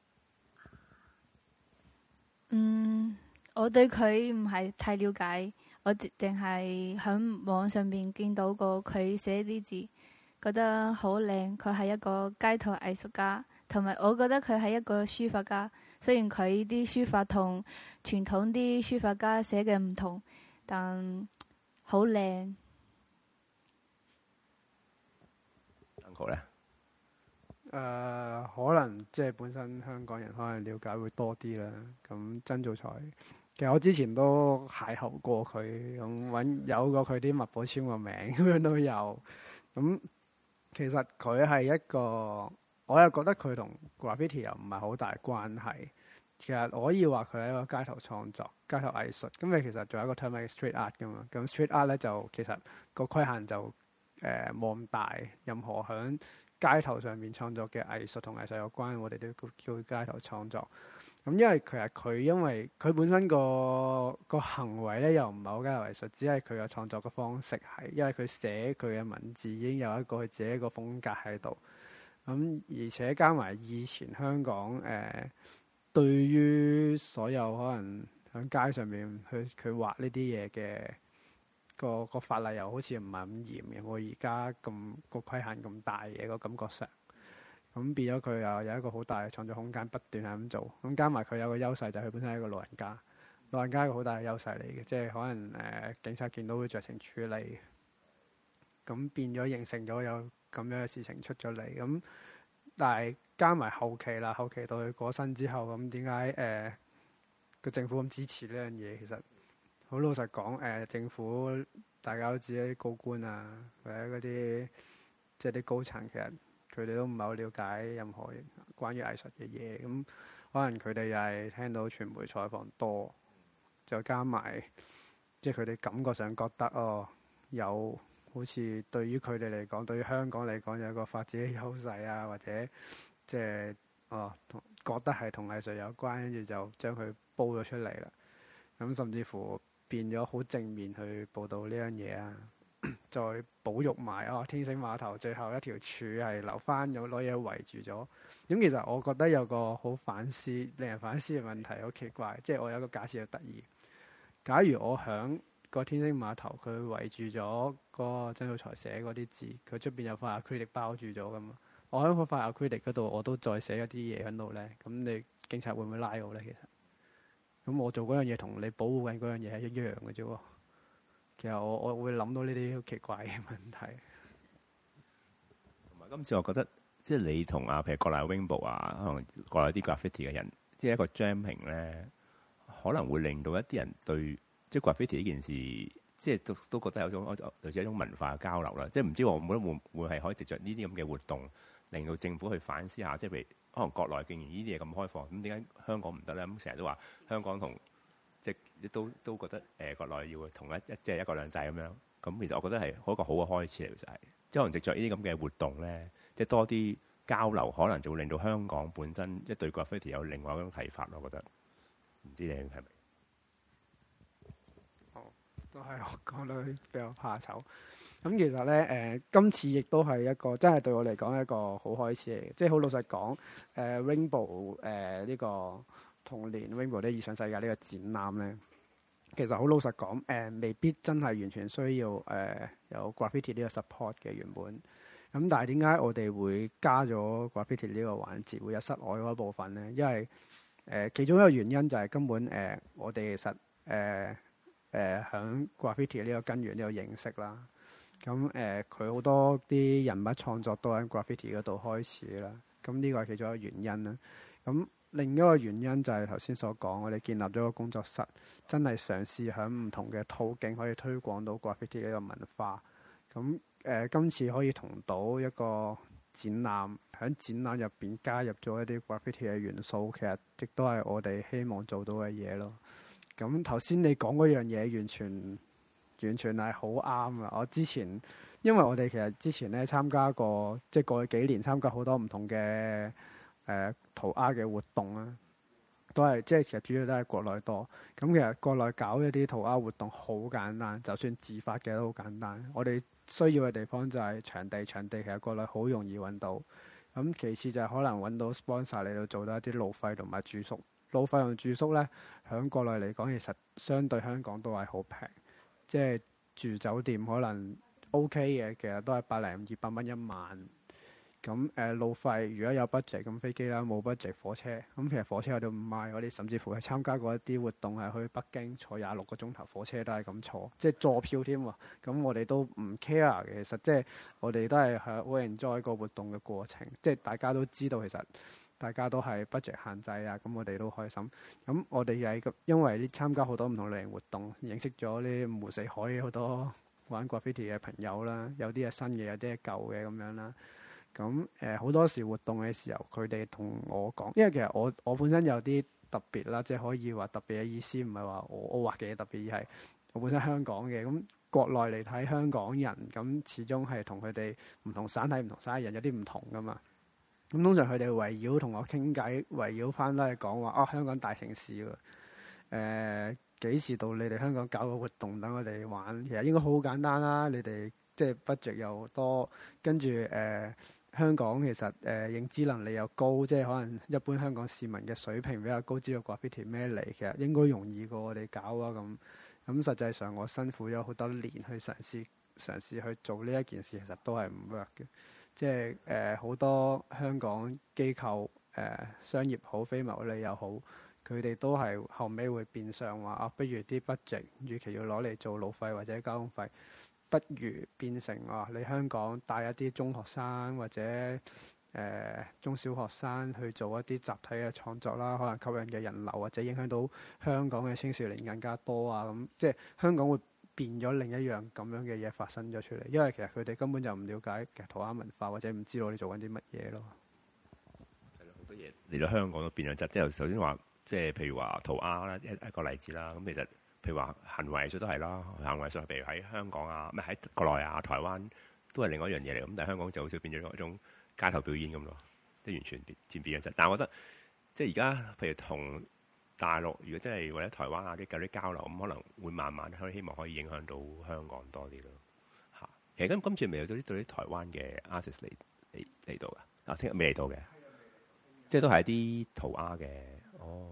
嗯，我對佢唔係太了解，我淨係喺網上邊見到過佢寫啲字，覺得好靚。佢係一個街頭藝術家，同埋我覺得佢係一個書法家。雖然佢啲書法同傳統啲書法家寫嘅唔同，但好靚。 Uncle 咧？ 誒，可能即係本身香港人可能了解會多啲啦。咁曾造才，其實我之前都邂逅過佢，咁揾有過佢啲墨寶簽個名咁樣都有。咁其實佢係一個。我又覺得佢同 graffiti 又唔係好大關係， 其實我可以話佢係一個街頭創作、街頭藝術。咁你其實仲有一個 term 係 street art 噶嘛。咁 street art 咧就其實個規限就誒冇咁大，任何響街頭上面創作嘅藝術同藝術有關，我哋都叫街頭創作。咁因為其實佢因為佢本身個個行為咧又唔係好街頭藝術，只係佢嘅創作嘅方式係，因為佢寫佢嘅文字已經有一個佢自己一個風格喺度。咁而且加埋以前香港誒、呃，對於所有可能喺街上面去佢畫呢啲嘢嘅個個法例又好似唔係咁嚴嘅，我而家咁個規限咁大嘅個感覺上。咁變咗佢又有一個好大嘅創作空間，不斷係咁做。咁加埋佢有個優勢就係佢本身係一個老人家，老人家係一個好大嘅優勢嚟嘅，即係可能誒、呃、警察見到會酌情處理。咁變咗形成咗有咁樣嘅事情出咗嚟。咁但係加埋後期啦，後期到佢過身之後，咁點解誒個政府咁支持呢樣嘢？其實好老實講，誒、呃、政府大家都知啲高官啊，或者嗰啲即係啲高層，其實佢哋都唔係好了解任何關於藝術嘅嘢，咁可能佢哋又係聽到傳媒採訪多，就加埋即係佢哋感覺上覺得哦，有好似對於佢哋嚟講，對於香港嚟講有一個發展嘅優勢啊，或者即係哦同覺得係同藝術有關，跟住就將佢煲咗出嚟啦。咁甚至乎變咗好正面去報導呢樣嘢啊！再保育埋哦，天星碼頭最後一條柱係留翻，有攞嘢圍住咗。咁其實我覺得有個好反思、令人反思嘅問題，好奇怪。即係我有個假設好得意。假如我響個天星碼頭，佢圍住咗個曾灶財寫嗰啲字，佢出邊有塊 acrylic 包住咗噶嘛？我喺嗰塊 acrylic 嗰度，我都再寫一啲嘢喺度咧。咁你警察會唔會拉我咧？其實咁我做嗰樣嘢同你保護緊嗰樣嘢係一樣嘅啫喎。其實我我會諗到呢啲好奇怪嘅問題。 同埋今次我覺得，即係你同啊，譬如國內 Rainbow 啊，可能國內啲 graffiti 嘅人，即係一個 jamming 咧，可能會令到一啲人對即係 graffiti 呢件事，即係都都覺得有種類似一種文化嘅交流啦。即係唔知我覺得會會係可以藉着呢啲咁嘅活動，令到政府去反思下，即係譬如可能國內竟然呢啲嘢咁開放，咁點解香港唔得咧？咁成日都話香港同即係都都覺得誒、呃、國內要同一一即係一國兩制咁樣，咁其實我覺得係一個好嘅開始嚟，其實係即係可能藉著呢啲咁嘅活動咧，即係多啲交流，可能就會令到香港本身一對 graffiti 有另外一種睇法咯。我覺得唔知你係咪？ 哦，都係我講得比較怕醜。咁其實咧誒、呃，今次亦都係一個真係對我嚟講一個好開始嚟嘅，即係好老實講誒、呃、Rainbow 誒、呃、呢、這個。同年 Rainbow 啲異想世界呢個展覽咧，其實好老實講，誒、呃、未必真係完全需要誒、呃、有 graffiti 呢個 support 嘅原本。咁但係點解我哋會加咗 graffiti 呢個環節，會有室外嗰部分咧？因為誒、呃、其中一個原因就係根本誒、呃、我哋其實誒誒響 graffiti 呢個根源呢個認識啦。咁誒佢好多啲人物創作都喺 graffiti 嗰度開始啦。咁呢個係其中一個原因啦。咁另一個原因就係頭先所講，我哋建立咗個工作室，真係嘗試喺唔同嘅途徑可以推廣到 graffiti 呢個文化。咁誒、呃，今次可以同到一個展覽，喺展覽入邊加入咗一啲 graffiti 嘅元素，其實亦都係我哋希望做到嘅嘢咯。咁頭先你講嗰樣嘢，完全完全係好啱啊！我之前因為我哋其實之前咧參加過，即係過去幾年參加好多唔同嘅。誒、呃、塗鴉嘅活動啦，都係即係其實主要都係國內多。咁其實國內搞一啲塗鴉活動好簡單，就算自發嘅都好簡單。我哋需要嘅地方就係場地，場地其實國內好容易揾到。咁其次就係可能揾到 sponsor 嚟到做到一啲路費同埋住宿。路費同住宿咧，喺國內嚟講其實相對香港都係好平，即係住酒店可能 OK 嘅，其實都係百零二百蚊一晚。咁誒、呃、路費如果有 budget 咁飛機啦，冇 budget 火車。咁其實火車我哋唔買，我哋甚至乎係參加過一啲活動係去北京坐廿六個鐘頭火車都係咁坐，即係坐票添喎。咁我哋都唔 care 嘅，其實即係我哋都係好 enjoy 個活動嘅過程。即係大家都知道其實大家都係 budget 限制啊，咁我哋都開心。咁我哋又係因為呢參加好多唔同類型活動，認識咗呢五湖四海好多玩 graffiti 嘅朋友啦，有啲係新嘅，有啲係舊嘅咁樣啦。咁誒好多時活動嘅時候，佢哋同我講，因為其實我我本身有啲特別啦，即係可以話特別嘅意思，唔係話我我畫嘅嘢特別，而係我本身香港嘅。咁國內嚟睇香港人，咁始終係同佢哋唔同省體、唔同省嘅人有啲唔同噶嘛。咁通常佢哋圍繞同我傾偈，圍繞翻都係講話啊，香港大城市喎。誒、呃、幾時到你哋香港搞個活動等我哋玩？其實應該好簡單啦，你哋即係 budget 又多，跟住誒。呃香港其實誒、呃、認知能力又高，即係可能一般香港市民嘅水平比較高，知道 graffiti 咩嚟，其實應該容易過我哋搞啊咁。咁實際上我辛苦咗好多年去嘗試嘗試去做呢一件事，其實都係唔 work 嘅。即係誒好多香港機構誒、呃、商業好、非牟利又好，佢哋都係後尾會變相話啊，不如啲 budget，與其要攞嚟做路費或者交通費，不如變成啊，你香港帶一啲中學生或者誒、呃、中小學生去做一啲集體嘅創作啦，可能吸引嘅人流或者影響到香港嘅青少年更加多啊，咁即係香港會變咗另一樣咁樣嘅嘢發生咗出嚟，因為其實佢哋根本就唔了解其實塗鴉文化，或者唔知道你做緊啲乜嘢咯。 係咯，好多嘢嚟到香港都變咗質，即係首先話，即係譬如話塗鴉啦，一一個例子啦，咁其實。譬如話行為藝術都係啦，行為藝術譬如喺香港啊，咩喺國內啊、台灣都係另外一樣嘢嚟。咁但係香港就好似變咗一種街頭表演咁咯，即係完全漸變咗質。但係我覺得即係而家譬如同大陸，如果真係或者台灣啊啲有啲交流，咁可能會慢慢可以希望可以影響到香港多啲咯。嚇，其實今今次未有到啲對啲台灣嘅 artist 嚟嚟嚟到㗎，啊聽日未嚟到嘅，即係都係一啲塗鴉嘅，哦。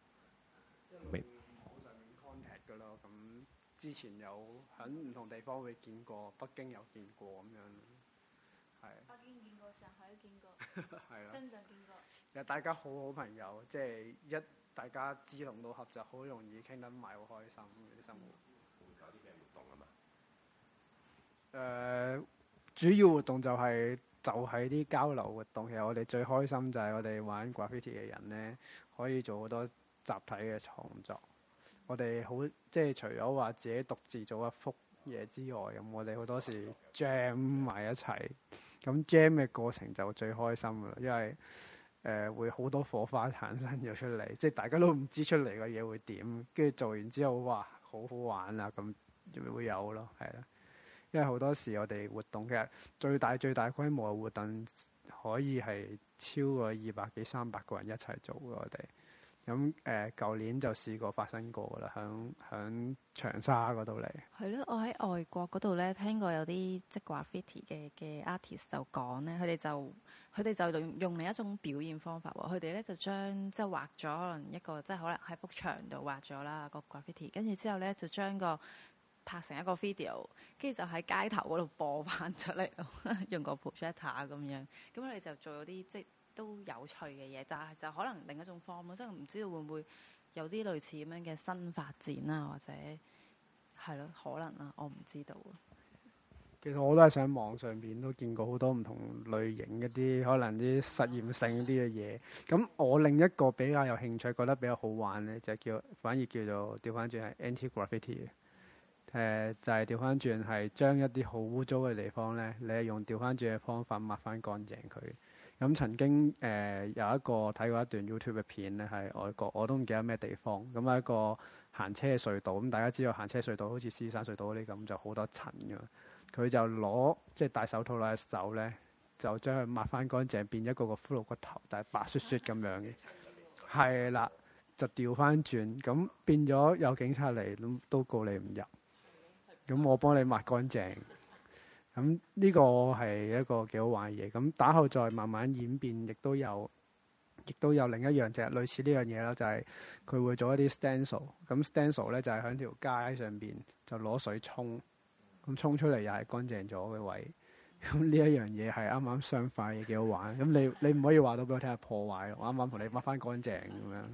之前有喺唔同地方會見過，北京有見過咁樣，係。 北京見過，上海見過，係啊，深圳見過。 其實大家好好朋友，即係一大家志同道合就好容易傾得埋，好開心嗰啲生活。會搞啲咩活動啊嘛？誒、呃，主要活動就係、是、就係、是、啲交流活動。其實我哋最開心就係我哋玩 graffiti 嘅人咧，可以做好多集體嘅創作。我哋好即係除咗話自己獨自做一幅嘢之外，咁我哋好多時 jam 埋一齊，咁 jam 嘅過程就最開心㗎啦，因為誒、呃、會好多火花產生咗出嚟，即係大家都唔知出嚟嘅嘢會點，跟住做完之後哇好好玩啊，咁會有咯，係啦，因為好多時我哋活動其實最大最大規模嘅活動可以係超過二百幾三百個人一齊做嘅，我哋。咁誒，舊、呃、年就試過發生過噶啦，響響長沙嗰度嚟。 係咯，我喺外國嗰度咧聽過有啲即係 graffiti 嘅嘅 artist 就講咧，佢哋就佢哋就用用另一種表現方法喎。佢哋咧就將即係畫咗可能一個即係可能喺幅牆度畫咗啦個 graffiti，跟住之後咧就將個拍成一個 video，跟住就喺街頭嗰度播翻出嚟咯，用個 projector 咁樣。咁佢哋就做咗啲即係都有趣嘅嘢，但係就可能另一種 form 咯，即係唔知道會唔會有啲類似咁樣嘅新發展啊，或者係咯，可能啊，我唔知道啊。 其實我都係上網上邊都見過好多唔同類型一啲可能啲實驗性啲嘅嘢。咁我另一個比較有興趣，覺得比較好玩咧，就叫反而叫做調翻轉係 anti-graffiti 嘅。誒、呃、就係調翻轉係將一啲好污糟嘅地方咧，你係用調翻轉嘅方法抹翻乾淨佢。咁曾經誒、呃、有一個睇過一段 YouTube 嘅片咧，係外國我都唔記得咩地方。咁係一個行車隧道，咁大家知道行車隧道好似獅山隧道嗰啲咁，就好多塵㗎。佢就攞即係戴手套攞隻手咧，就將佢抹翻乾淨，變一個個骷髏骨頭，但係白雪雪咁樣嘅。係啦，就調翻轉，咁變咗有警察嚟都都告你唔入。咁我幫你抹乾淨。咁呢個係一個幾好玩嘅嘢。咁打後再慢慢演變，亦都有，亦都有另一樣就係類似呢樣嘢啦，就係、是、佢會做一啲 stencil。咁 stencil 咧就係喺條街上邊就攞水沖，咁沖出嚟又係乾淨咗嘅位。咁呢一樣嘢係啱啱相反嘅，幾好玩。咁你你唔可以話到俾我聽係破壞，我啱啱同你抹翻乾淨咁樣。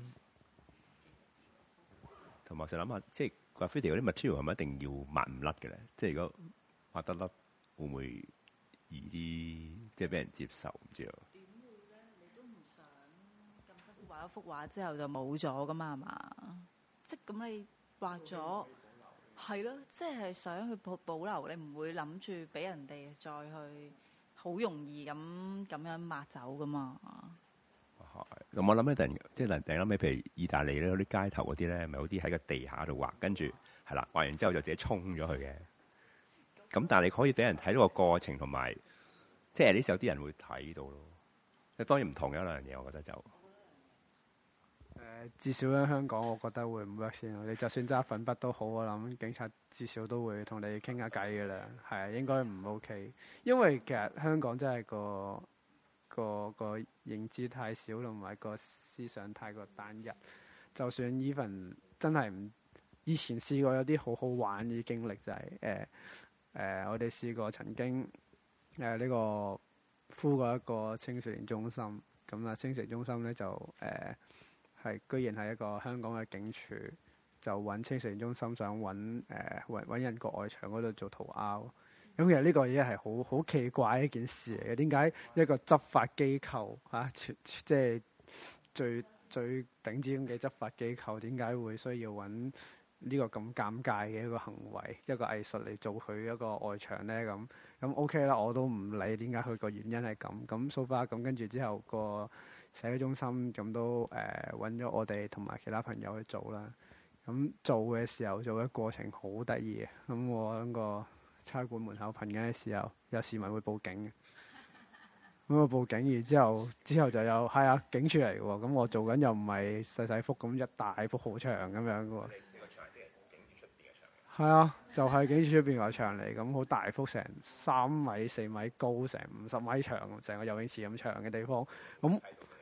同埋我成日諗下，即係 graffiti 嗰啲 material 係咪一定要抹唔甩嘅咧？即係如果抹得甩，會唔會易啲，即係俾人接受？唔知啊。點會咧？你都唔想咁辛苦畫一幅畫之後就冇咗噶嘛？係嘛？即係咁你畫咗，係咯，即係想去保保留，你唔會諗住俾人哋再去好容易咁咁樣抹走噶嘛？ 咁我諗咧，突然即係突然諗起，譬如意大利咧，嗰啲街頭嗰啲咧，咪有啲喺個地下度畫，跟住係啦，畫完之後就自己衝咗去嘅。咁但係你可以俾人睇到個過程，同埋即係呢時有啲人會睇到咯。即當然唔同嘅一兩樣嘢，我覺得就誒、 呃、至少喺香港，我覺得會唔 work 先咯。你就算揸粉筆都好，我諗警察至少都會同你傾下偈嘅啦。係啊，應該唔 OK，因為其實香港真係個個個認知太少，同埋個思想太過單一。就算 even 真係唔以前試過有啲好好玩嘅經歷，就係誒誒，我哋試過曾經誒呢、呃這個敷過一個青少年中心，咁啊青少年中心咧就誒係、呃、居然係一個香港嘅警署，就揾青少年中心想揾誒揾揾人國外牆嗰度做塗鴉。咁其實呢個嘢係好好奇怪一件事嚟嘅。點解一個執法機構嚇，即係最最頂尖嘅執法機構，點解會需要揾呢個咁尷尬嘅一個行為，一個藝術嚟做佢一個外牆咧？咁咁 OK 啦，我都唔理點解佢個原因係咁。咁 so far 咁跟住之後，個社區中心咁都誒揾咗我哋同埋其他朋友去做啦。咁做嘅時候做嘅過程好得意嘅。咁我喺個差館門口噴緊嘅時候，有市民會報警嘅。咁我報警，然之後之後就有係啊警署嚟嘅喎。咁我做緊又唔係細細幅咁一大幅好長咁樣嘅喎。係啊，就係警署出邊個牆嚟，咁好大幅，成三米四米高，成五十米長，成個游泳池咁長嘅地方。咁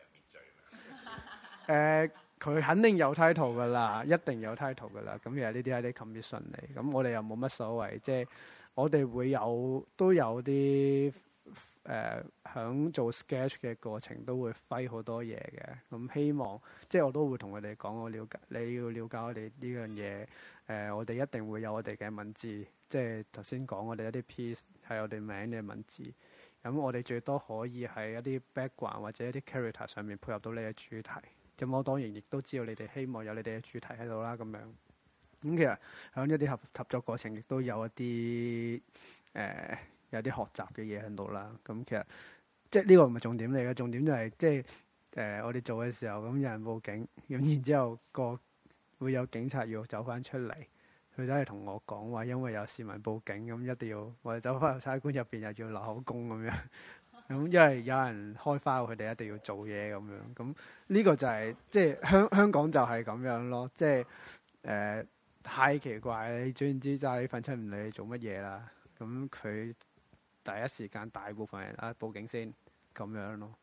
誒，佢、呃、肯定有 title 噶啦，一定有 title 噶啦。咁其實呢啲係啲 commission 嚟，咁我哋又冇乜所謂，即係我哋會有都有啲誒響做 sketch 嘅過程都會揮好多嘢嘅。咁希望即係我都會同佢哋講，我了解你要了解我哋呢樣嘢。誒、呃，我哋一定會有我哋嘅文字，即係頭先講我哋一啲 piece 係我哋名嘅文字。咁我哋最多可以喺一啲 background 或者一啲 character 上面配合到你嘅主題。咁我當然亦都知道你哋希望有你哋嘅主題喺度啦。咁樣咁其實喺一啲合合作過程，亦都有一啲誒、呃、有啲學習嘅嘢喺度啦。咁其實即係呢個唔係重點嚟嘅，重點就係、是、即係誒、呃、我哋做嘅時候，咁有人報警，咁然之後個會有警察要走翻出嚟，佢走嚟同我講話，因為有市民報警，咁一定要我哋走翻入差館入邊又要落口供咁樣。咁因為有人開花，佢哋一定要做嘢咁樣。咁呢個就係、是、即係香香港就係咁樣咯。即係誒、呃、太奇怪，你總言之揸呢份出唔理你做乜嘢啦。咁佢第一時間大部分人啊報警先咁樣咯。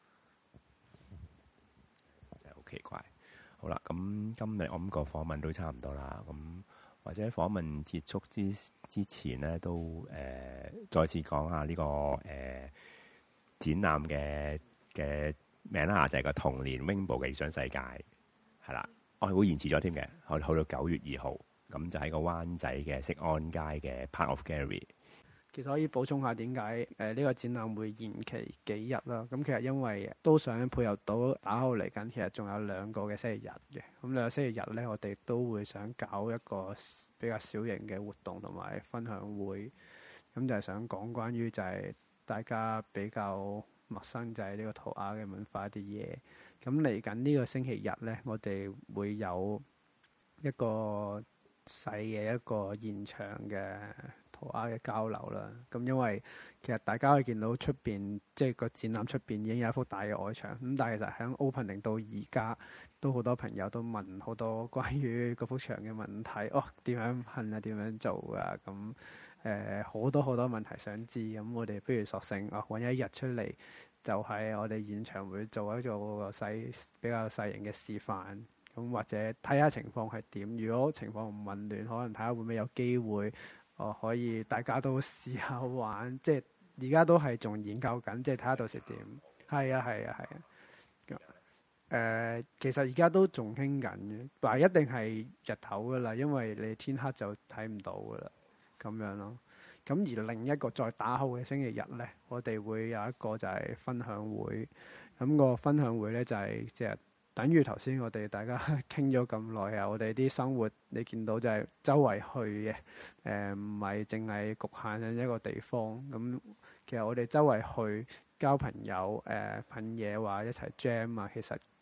真係好奇怪。好啦，咁今日我諗個訪問都差唔多啦。咁或者訪問結束之之前咧，都誒、呃、再次講下呢、這個誒、呃、展覽嘅嘅名啦，就係、是、個童年 Rainbow 嘅異想世界，係啦。我係會延遲咗添嘅，我哋去到九月二號，咁就喺個灣仔嘅適安街嘅 Part of Gallery。 其實可以補充下點解誒呢個展覽會延期幾日啦？咁其實因為都想配合到打後嚟緊，其實仲有兩個嘅星期日嘅。咁兩個星期日咧，我哋都會想搞一個比較小型嘅活動同埋分享會。咁就係想講關於就係大家比較陌生就係呢個塗鴉嘅文化一啲嘢。咁嚟緊呢個星期日咧，我哋會有一個細嘅一個現場嘅塗鴉嘅交流啦，咁因為其實大家可以見到出邊，即係個展覽出邊已經有一幅大嘅外牆，咁但係其實喺 opening 到而家，都好多朋友都問好多關於嗰幅牆嘅問題，哦點樣噴啊，點樣做啊，咁誒好多好多問題想知，咁我哋不如索性啊揾一日出嚟，就係我哋現場會做一做個細比較細型嘅示範，咁或者睇下情況係點，如果情況唔混亂，可能睇下會唔會有機會。哦，可以大家都試下玩，即係而家都係仲研究緊，即係睇下到時點。係啊，係啊，係啊。誒、呃，其實而家都仲傾緊嘅，但係一定係日頭噶啦，因為你天黑就睇唔到噶啦，咁樣咯。咁而另一個再打後嘅星期日咧，我哋會有一個就係分享會。咁、那個分享會咧就係即係。等於頭先我哋大家傾咗咁耐啊，我哋啲生活你見到就係周圍去嘅，誒唔係淨係局限喺一個地方。咁其實我哋周圍去交朋友，誒噴嘢話一齊 jam 啊，其實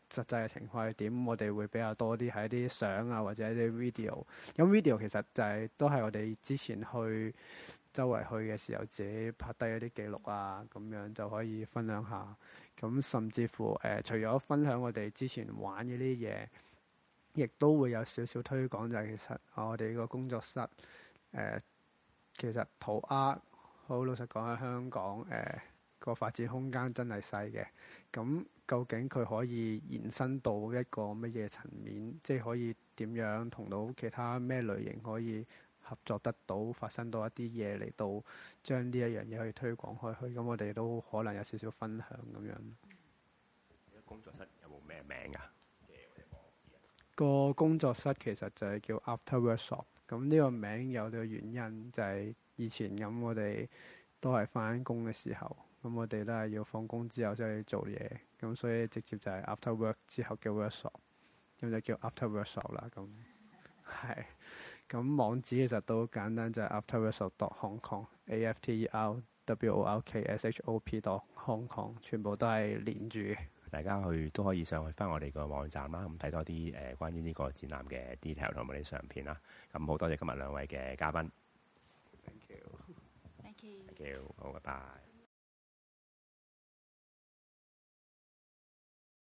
實際嘅情況係點，我哋會比較多啲係一啲相啊，或者一啲 video。咁 video 其實就係、是、都係我哋之前去周圍去嘅時候自己拍低一啲記錄啊，咁樣就可以分享下。咁甚至乎誒、呃，除咗分享我哋之前玩嘅啲嘢，亦都會有少少推廣，就係、是、其實我哋個工作室誒、呃，其實塗鴉好老實講喺香港誒。呃個發展空間真係細嘅，咁究竟佢可以延伸到一個乜嘢層面？即係可以點樣同到其他咩類型可以合作得到，發生到一啲嘢嚟到將呢一樣嘢去推廣開去？咁我哋都可能有少少分享咁樣。 工作室有冇咩名啊？ 個工作室其實就係叫 After Workshop。咁呢個名有個原因就係以前咁，我哋都係返工嘅時候。咁我哋都係要放工之後先去做嘢，咁所以直接就係 after work 之後叫 workshop，咁就叫 after workshop 啦。咁係，咁網址其實都簡單，就係、是、afterworkshop dot hong kong，a f t e r w o r k s h o p dot hong kong， 全部都係連住嘅。 大家去都可以上去翻我哋個網站啦，咁睇多啲誒、呃、關於呢個展覽嘅 detail 同埋啲相片啦。咁好多謝今日兩位嘅嘉賓。 Thank you。 Thank you。 Thank you。好，拜拜。